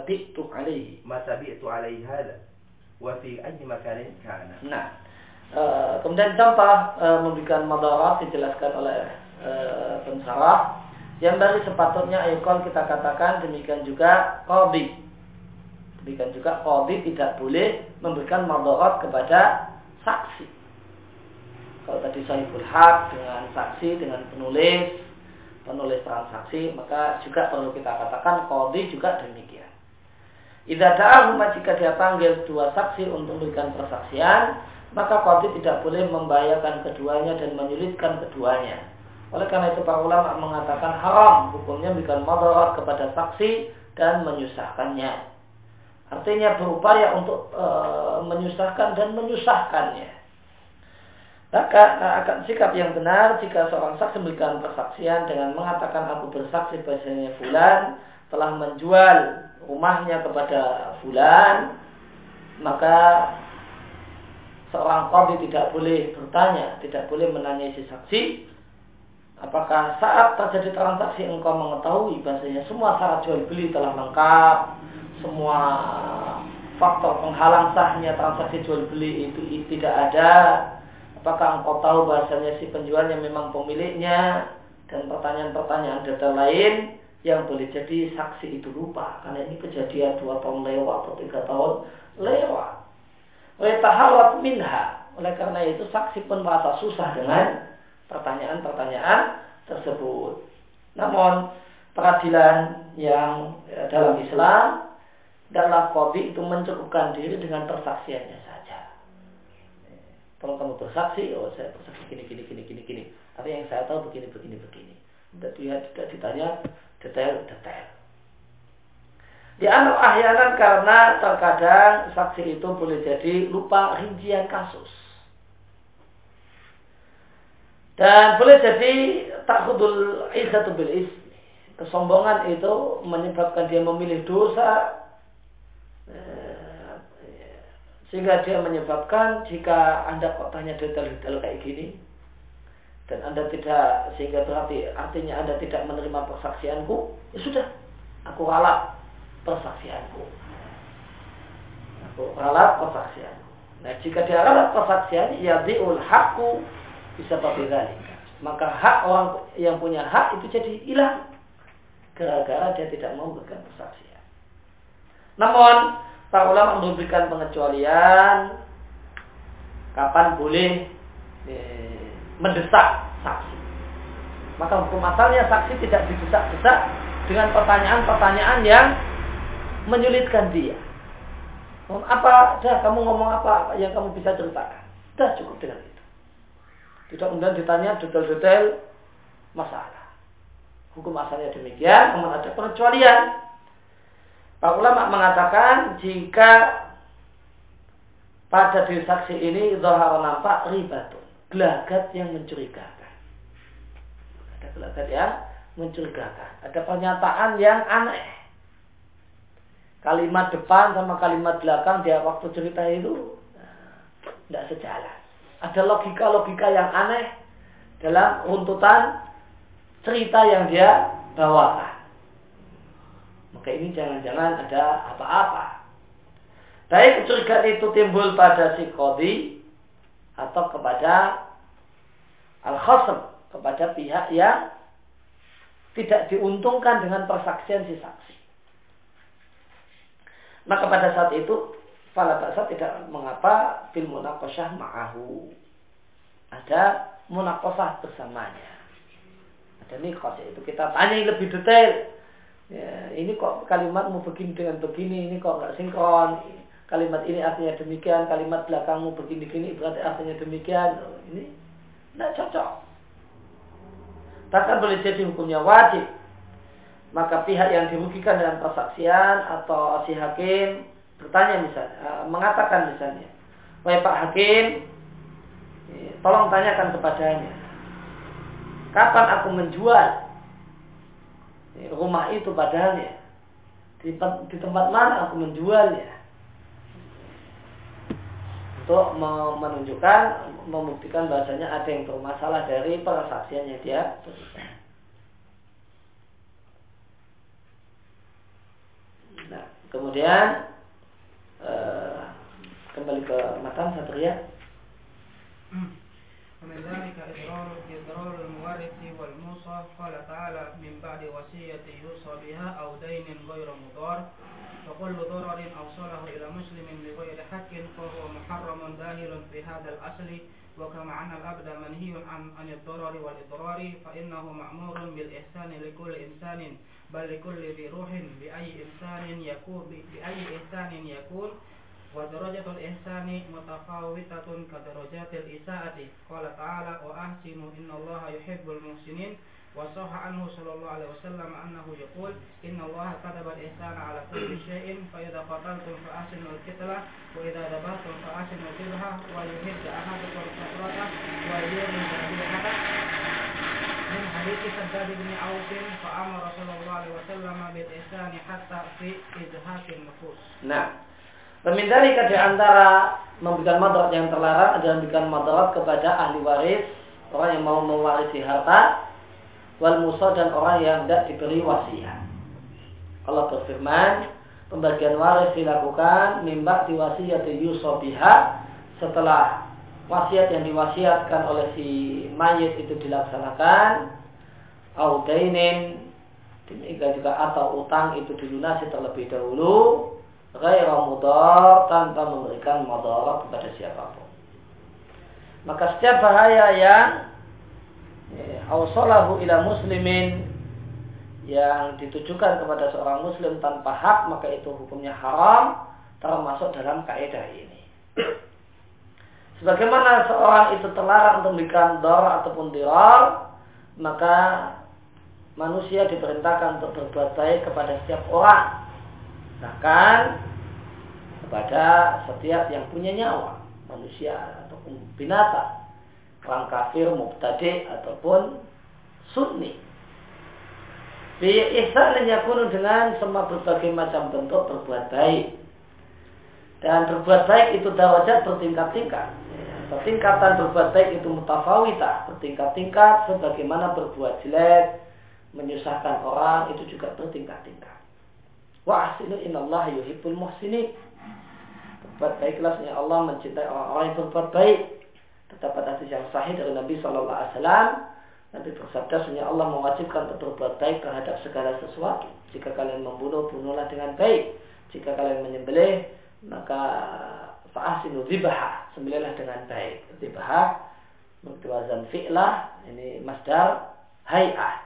ما تبعت عليه هذا وفي أي مكان كان. Nah, kemudian contoh memberikan madarat dijelaskan oleh pensarah. Yang dari sepatutnya ayukol kita katakan demikian juga qadhi. Demikian juga qadhi tidak boleh memberikan madarat kepada saksi. Kalau tadi sahibul haq dengan saksi, dengan penulis transaksi, maka juga perlu kita katakan qadhi juga demikian. Idza da'ahuma, jika dia panggil dua saksi untuk memberikan persaksian, maka qadhi tidak boleh membahayakan keduanya dan menyulitkan keduanya. Oleh karena itu para ulama mengatakan haram hukumnya memberikan madarat kepada saksi dan menyusahkannya. Artinya berupaya untuk menyusahkan dan menyusahkannya. Maka akan sikap yang benar jika seorang saksi memberikan persaksian dengan mengatakan aku bersaksi bahasanya fulan telah menjual rumahnya kepada fulan, maka seorang qadhi tidak boleh bertanya, tidak boleh menanyai si saksi, apakah saat terjadi transaksi engkau mengetahui bahasanya semua syarat jual beli telah lengkap, semua faktor penghalang sahnya transaksi jual beli itu tidak ada, apakah engkau tahu bahasanya si penjualnya memang pemiliknya, dan pertanyaan-pertanyaan detail lain yang boleh jadi saksi itu lupa karena ini kejadian 2 tahun lewat atau 3 tahun lewat. Taharat minha, oleh karena itu saksi pun merasa susah dengan pertanyaan-pertanyaan tersebut. Namun peradilan yang dalam Islam adalah qadhi itu mencukupkan diri dengan persaksiannya saja. Kalau kamu bersaksi, oh saya bersaksi gini. Tapi yang saya tahu begini. Tidak ditanya detail. Dianggap ahyanan karena terkadang saksi itu boleh jadi lupa rincian kasus. Dan boleh jadi takhudul izzatu bil ismi. Kesombongan itu menyebabkan dia memilih dosa, sehingga dia menyebabkan jika Anda kok tanya detail-detail kayak gini dan Anda tidak, sehingga berarti artinya Anda tidak menerima persaksianku, ya sudah, aku ralat persaksianku. Nah, jika dia ralat persaksiannya, ya diul haqqu bisa berbeda, maka hak orang yang punya hak itu jadi hilang gara-gara dia tidak mau memberikan persaksian. Namun para ulama memberikan pengecualian kapan boleh mendesak saksi. Maka hukum asalnya saksi tidak didesak-desak dengan pertanyaan-pertanyaan yang menyulitkan dia. Apa? Dah kamu ngomong apa yang kamu bisa ceritakan? Dah cukup dengan itu. Tidak kemudian ditanya detail-detail masalah. Hukum asalnya demikian, namun ada pengecualian. Para ulama mengatakan jika pada diri saksi ini zahar nampak ribatun, gelagat yang mencurigakan. Ada gelagat yang mencurigakan. Ada pernyataan yang aneh. Kalimat depan sama kalimat belakang dia waktu cerita itu tidak sejalan. Ada logika-logika yang aneh dalam runtutan cerita yang dia bawakan. Maka ini jangan-jangan ada apa-apa. Baik kecurigaan itu timbul pada si qadhi atau kepada al-khasm, kepada pihak yang tidak diuntungkan dengan persaksian si saksi. Maka pada saat itu fala ba'sa, tidak mengapa fil munaqasyah ma'ahu. Ada munaqasyah bersamanya. Ada niqash, itu kita tanya lebih detail. Ya, ini kok kalimatmu begini dengan begini, ini kok enggak sinkron. Kalimat ini artinya demikian, kalimat belakangmu begini-gini berarti artinya demikian. Ini enggak cocok. Bahkan boleh jadi hukumnya wajib. Maka pihak yang dirugikan dengan persaksian atau si hakim bertanya misalnya, mengatakan misalnya, wahai Pak Hakim, tolong tanyakan kepadanya, kapan aku menjual rumah itu padanya? di tempat mana aku menjualnya, untuk menunjukkan, membuktikan bahasanya ada yang bermasalah dari persaksiannya dia berikan. Nah, kemudian kembali ke matan Satria. ومن ذلك إضرار المورث والموصى قال تعالى من بعد وصية يوصى بها أو دين غير مضار فكل ضرر أوصله إلى مسلم بغير حق فهو محرم داخل في هذا الأصل وكما أن العبد منهي عن الضرر والإضرار فإنه مأمور بالإحسان لكل إنسان بل لكل ذي روح بأي إحسان يكون ودرجة الإحسان متفاوتة كدرجات الإساءة قال تعالى وأحسنوا إن الله يحب المحسنين وصح عنه صلى الله عليه وسلم أنه يقول إن الله كتب الإحسان على كل شيء فإذا قتلتم فأحسنوا القتلة وإذا ذبحتم فأحسنوا الذبحة وليحد أحدكم شفرته وليرمي ذبيحته من حديث شداد بن عوف فأمر صلى الله عليه وسلم بالإحسان حتى في إزهاق النفوس. Nah, pemindalika di antara memberikan madarat yang terlarang adalah memberikan madarat kepada ahli waris, orang yang mau mewarisi harta, wal musa dan orang yang tidak diberi wasiat. Allah berfirman, pembagian waris dilakukan mimba diwasiyati yusa biha, setelah wasiat yang diwasiatkan oleh si mayit itu dilaksanakan, au dainin, demikian juga atau utang itu dilunasi terlebih dahulu, ghairu mudar, tanpa memberikan madarat kepada siapapun. Maka setiap bahaya yang awsalahu ila muslimin, yang ditujukan kepada seorang muslim tanpa hak, maka itu hukumnya haram, termasuk dalam kaidah ini. Sebagaimana seorang itu terlarang untuk memberikan darar ataupun dirar, maka manusia diperintahkan untuk berbuat baik kepada setiap orang, bahkan kepada setiap yang punya nyawa, manusia ataupun binatang, orang kafir, mubtadi ataupun sunni. Bi ihsan yakunu, dengan semua berbagai macam bentuk berbuat baik. Dan berbuat baik itu darajat bertingkat-tingkat. Tingkatan berbuat baik itu mutafawita, bertingkat-tingkat, sebagaimana berbuat jelek, menyusahkan orang itu juga bertingkat-tingkat. Wa ahsinu innallaha yuhibbul muhsinin. Berbuat baiklah, sesungguhnya Allah mencintai orang-orang yang berbuat baik. Terdapat hadis yang sahih dari Nabi sallallahu alaihi wasallam. Nabi bersabda, sesungguhnya Allah mewajibkan untuk berbuat baik terhadap segala sesuatu. Jika kalian membunuh, bunuhlah dengan baik. Jika kalian menyembelih, maka fa'ahsinu dzibha, sembelihlah dengan baik. Dzibha mutawazan fi'lah, ini masdar hay'ah.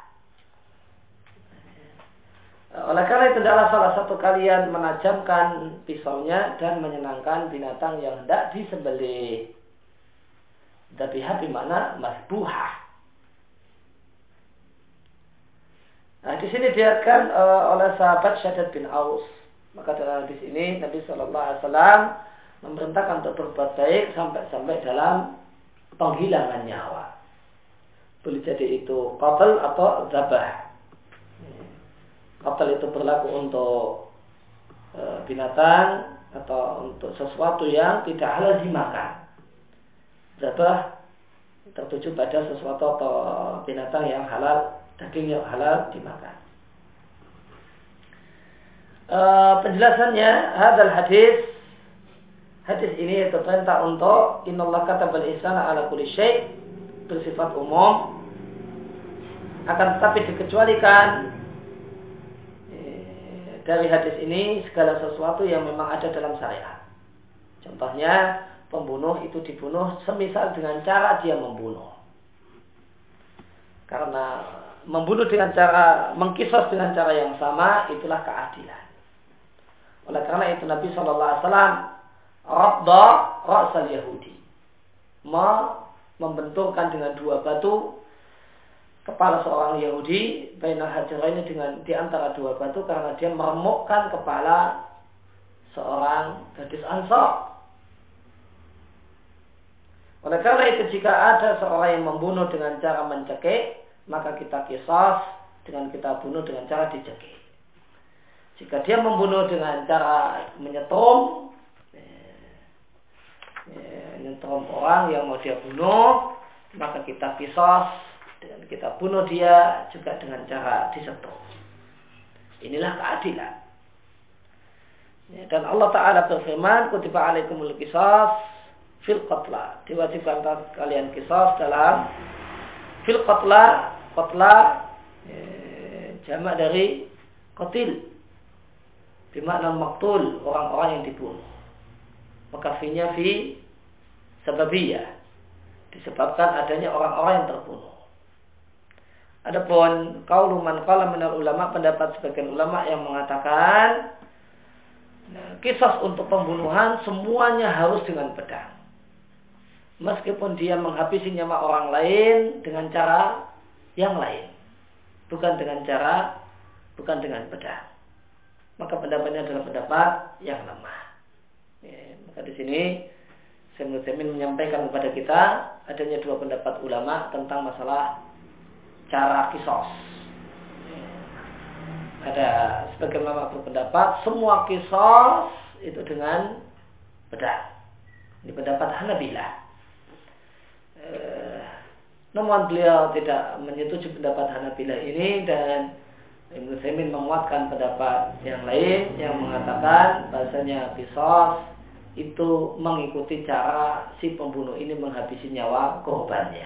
Oleh karena itu, adalah salah satu kalian menajamkan pisaunya dan menyenangkan binatang yang hendak disembelih. Dzabihah bimana masbuhah. Nah, di sini dilihatkan oleh sahabat Shaddad bin Aus. Maka dalam hadis ini Nabi Shallallahu Alaihi Wasallam memerintahkan untuk berbuat baik sampai dalam penghilangan nyawa. Boleh jadi itu qatl atau dzabah. Qatl itu berlaku untuk binatang atau untuk sesuatu yang tidak halal dimakan. Dzabah tertuju pada sesuatu atau binatang yang halal, daging yang halal dimakan. Penjelasannya, hadal hadis ini itu perintah untuk innallaha katabal ihsana ala kulli syai', bersifat umum, akan tetapi dikecualikan dari hadis ini segala sesuatu yang memang ada dalam syariat. Contohnya, pembunuh itu dibunuh semisal dengan cara dia membunuh. Karena membunuh dengan cara, mengkisos dengan cara yang sama, itulah keadilan. Oleh karena itu Nabi SAW radda ra'sal Yahudi, membenturkan dengan dua batu kepala seorang Yahudi, bainal hajaraini, dengan di antara dua batu, karena dia meremukkan kepala seorang gadis Ansar. Oleh karena itu, jika ada seorang yang membunuh dengan cara mencekik, maka kita qisas dengan kita bunuh dengan cara dicekik. Jika dia membunuh dengan cara menyetrum orang yang mau dia bunuh, maka kita kisos dengan kita bunuh dia juga dengan cara disetrum. Inilah keadilan. Dan Allah Ta'ala berfirman, kutiba alaikumul qisas fil qatla. Diwajibkan kalian kisos dalam fil qatla. Qatla jamak dari qatil, bermakna maktul, orang-orang yang dibunuh. Maka finya fi sababiyah, disebabkan adanya orang-orang yang terbunuh. Adapun qaulu man qala minal ulama, pendapat sebagian ulama yang mengatakan kisas untuk pembunuhan semuanya harus dengan pedang. Meskipun dia menghabisi nyawa orang lain dengan cara yang lain, bukan dengan pedang. Maka pendapatnya adalah pendapat yang lemah. Maka di sini Syekh Utsaimin menyampaikan kepada kita adanya dua pendapat ulama tentang masalah cara kisos. Ada sebagian ulama berpendapat semua kisos itu dengan pedang. Ini pendapat Hanabilah. Namun beliau tidak menyetujui pendapat Hanabilah ini, dan Ibnu Utsaimin menguatkan pendapat yang lain yang mengatakan bahasanya kisos itu mengikuti cara si pembunuh ini menghabisi nyawa korbannya.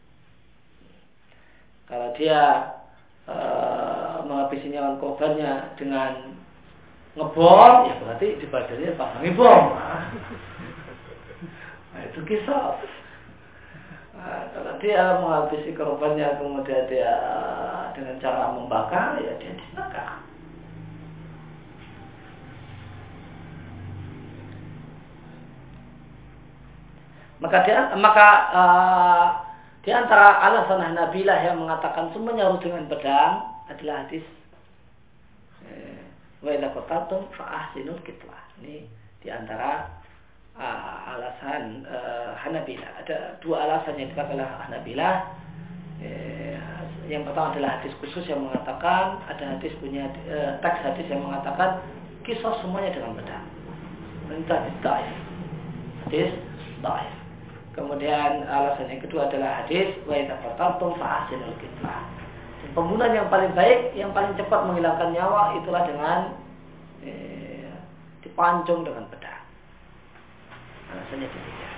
Kalau dia menghabisi nyawa korbannya dengan ngebom, ya berarti di badannya pasangi bom. Nah, itu kisos. Nah, kalau dia menghabisi korbannya kemudian dia dengan cara membakar, ya dia dibakar. Maka di antara alasan Hanabilah yang mengatakan semuanya harus dengan pedang adalah hadis wa idza qataltum fa ahsinul qitlah. Ini di antara alasan Hanabilah. Ada dua alasan yang dipakai oleh Hanabilah. Yang pertama adalah hadis khusus yang mengatakan, ada hadis punya teks hadis yang mengatakan kisos semuanya dengan pedang. Itu hadis dhaif. Hadis dhaif. Kemudian alasan yang kedua adalah hadis wa idza qataltum fa ahsinul qitlah. Pembunuhan yang paling baik, yang paling cepat menghilangkan nyawa itulah dengan dipancung dengan pedang. Alasannya demikian.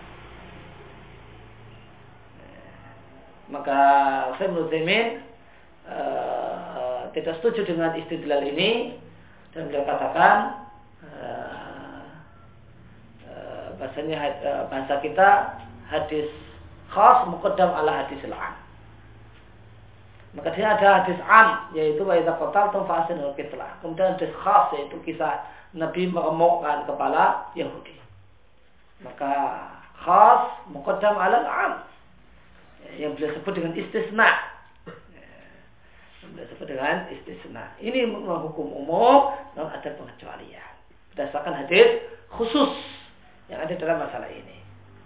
Maka Syekh Utsaimin tidak setuju dengan istidlal ini, dan beliau katakan bahasa kita hadis khas muqaddam ala hadis al-am. Maka dia ada hadis am, yaitu wa idza qataltum fa ahsinul qitlah. Kemudian hadis khas, yaitu kisah Nabi meremukkan kepala Yahudi. Maka khas muqaddam ala al-am, yang beliau sebut dengan istisna. Ini hukum umum, dan ada pengecualian berdasarkan hadis khusus yang ada dalam masalah ini.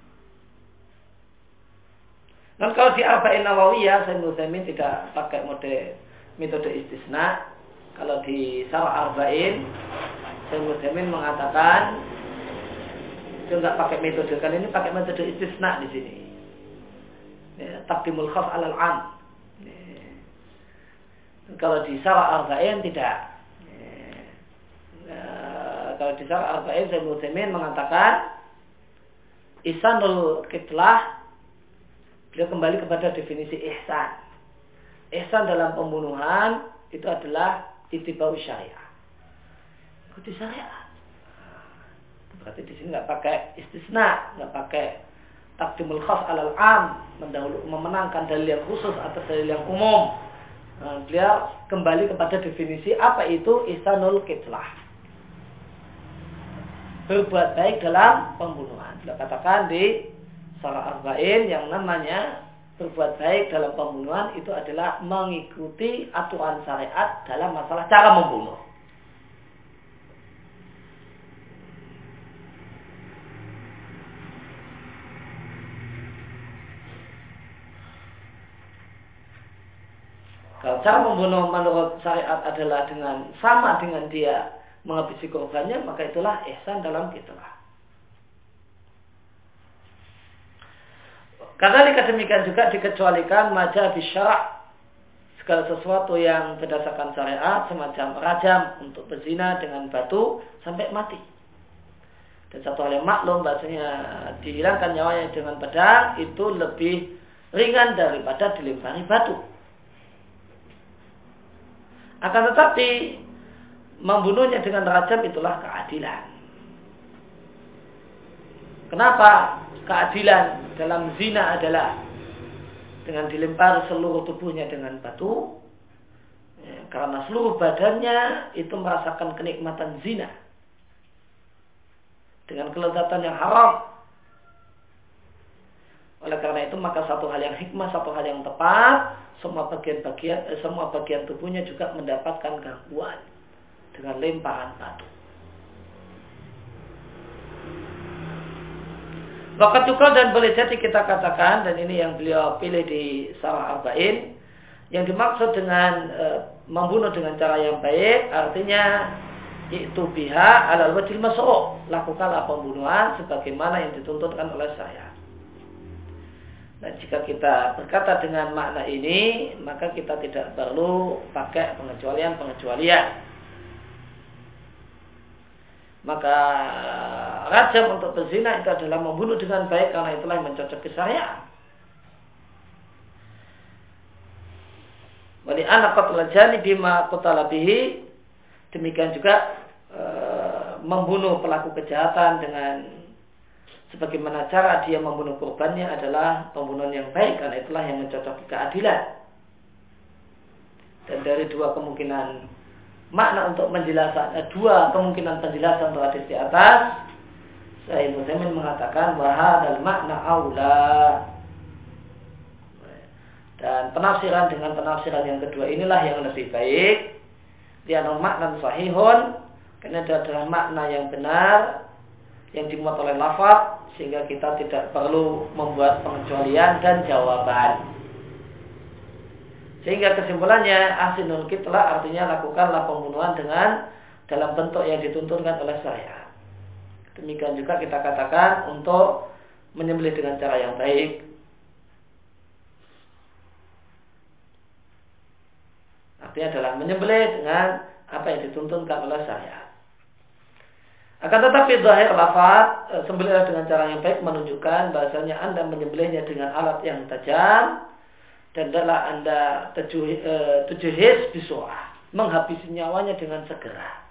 Dan kalau di Arba'in Nawawiyah, Syekh Utsaimin tidak pakai metode istisna. Kalau di Syarah Arba'in, Syekh Utsaimin mengatakan dia tidak pakai metode, kan ini pakai metode istisna di sini. Taqdimul khas 'alal 'am. Kalau di Syarah Arba'in tidak. Kalau di Syarah Arba'in, Syekh Utsaimin mengatakan ihsanul qitlah, beliau kembali kepada definisi ihsan. Ihsan dalam pembunuhan itu adalah ittiba'u syariah. Ikuti syariat. Berarti di sini nggak pakai istisna, nggak pakai taqdimul khas 'alal 'am, memenangkan dalil yang khusus atas dalil yang umum. Beliau kembali kepada definisi apa itu ihsanul qitlah. Berbuat baik dalam pembunuhan. Beliau katakan di Syarah Arba'in yang namanya berbuat baik dalam pembunuhan itu adalah mengikuti aturan syariat dalam masalah cara membunuh. Kalau cara membunuh menurut syariat adalah sama dengan dia menghabisi korbannya, maka itulah ihsan dalam qitlah. Kadzalika demikian juga dikecualikan majah bisyara', segala sesuatu yang berdasarkan syariat semacam rajam untuk berzina dengan batu sampai mati. Dan satu hal yang maklum bahasanya dihilangkan nyawanya dengan pedang itu lebih ringan daripada dilempari batu. Akan tetapi membunuhnya dengan rajam itulah keadilan. Kenapa keadilan dalam zina adalah dengan dilempari seluruh tubuhnya dengan batu? Karena seluruh badannya itu merasakan kenikmatan zina dengan kelezatan yang haram. Oleh karena itu maka satu hal yang hikmah, satu hal yang tepat, semua bagian tubuhnya juga mendapatkan gangguan dengan lemparan batu. Waqat tukal dan boleh jadi kita katakan, dan ini yang beliau pilih di Syarah Arba'in, yang dimaksud dengan membunuh dengan cara yang baik artinya itu biha alal wajhil masru', lakukanlah pembunuhan sebagaimana yang dituntutkan oleh syariat. Nah, jika kita berkata dengan makna ini, maka kita tidak perlu pakai pengecualian. Maka rajam untuk berzina itu adalah membunuh dengan baik karena itulah yang mencocoki syariat. Wali anak qatl jani bima qutala bihi, demikian juga membunuh pelaku kejahatan dengan sebagaimana cara dia membunuh korbannya adalah pembunuhan yang baik karena itulah yang mencocoki keadilan. Dan dari dua kemungkinan makna untuk menjelaskan, dua kemungkinan penjelasan untuk hadis di atas, Syekh Utsaimin mengatakan bahwa makna aula. Dan penafsiran dengan penafsiran yang kedua inilah yang lebih baik. Dia makna sahihun, karena itu adalah makna yang benar yang dimuat oleh lafaz, sehingga kita tidak perlu membuat pengecualian dan jawaban. Sehingga kesimpulannya ahsinul qitlah artinya lakukanlah pembunuhan dengan dalam bentuk yang dituntunkan oleh syariat. Demikian juga kita katakan untuk menyembelih dengan cara yang baik. Artinya adalah menyembelih dengan apa yang dituntunkan oleh syariat. Akan tetapi zahir lafaz sembelihlah dengan cara yang baik menunjukkan bahasanya Anda menyembelihnya dengan alat yang tajam dan adalah Anda tujuhis bisurah, menghabisi nyawanya dengan segera.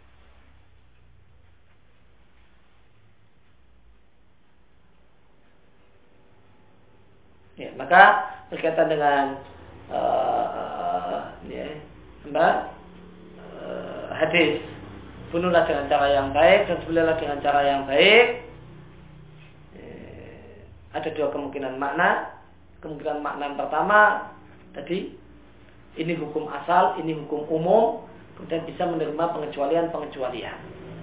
Ya, maka berkaitan dengan hadis bunuhlah dengan cara yang baik dan sembelihlah dengan cara yang baik. Ada dua kemungkinan makna. Kemungkinan makna yang pertama tadi ini hukum asal, ini hukum umum, kemudian bisa menerima pengecualian.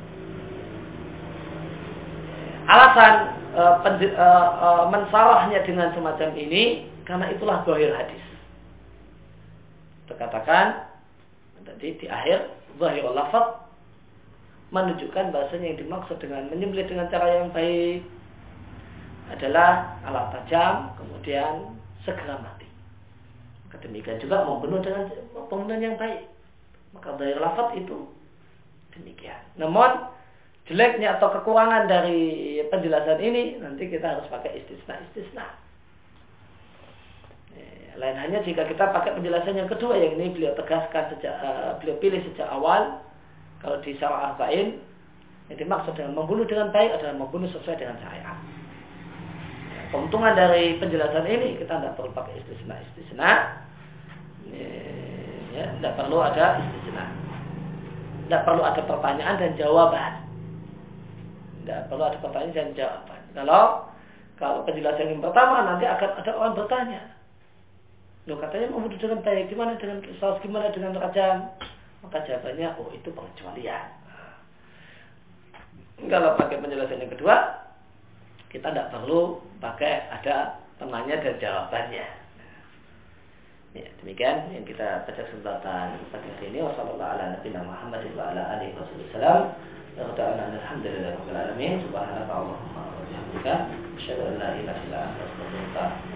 Alasan mensarahnya dengan semacam ini karena itulah zahir hadis. Terkatakan tadi di akhir zahirul lafaz menunjukkan bahasanya yang dimaksud dengan menyembelih dengan cara yang baik adalah alat tajam kemudian segera mati. Demikian juga membunuh dengan pembunuhan yang baik. Maka zahir lafaz itu demikian. Namun jeleknya atau kekurangan dari penjelasan ini nanti kita harus pakai istisna. Lain hanya jika kita pakai penjelasan yang kedua yang ini beliau tegaskan beliau pilih sejak awal. Kalau di Syarah Arba'in yang dimaksud dengan membunuh dengan baik adalah membunuh sesuai dengan syariat. Keuntungan dari penjelasan ini kita tidak perlu pakai istisna. Tidak perlu ada istisna. Tidak perlu ada pertanyaan dan jawaban. Tidak perlu ada pertanyaan dan jawaban. Kalau penjelasan yang pertama nanti akan ada orang bertanya. Loh katanya membunuh dengan baik, gimana dengan kisah, gimana dengan rajam? Maka jawabannya, itu pengecualian. Kalau pakai penjelasan yang kedua, kita tidak perlu pakai ada penanya dan jawabannya. Ya, demikian yang kita pada kesempatan pagi hari ini. Wassalamualaikum warahmatullahi wabarakatuh. Alhamdulillahirabbil alamin. Subhanakallahumma wa bihamdika asyhadu an la ilaha illa anta astaghfiruka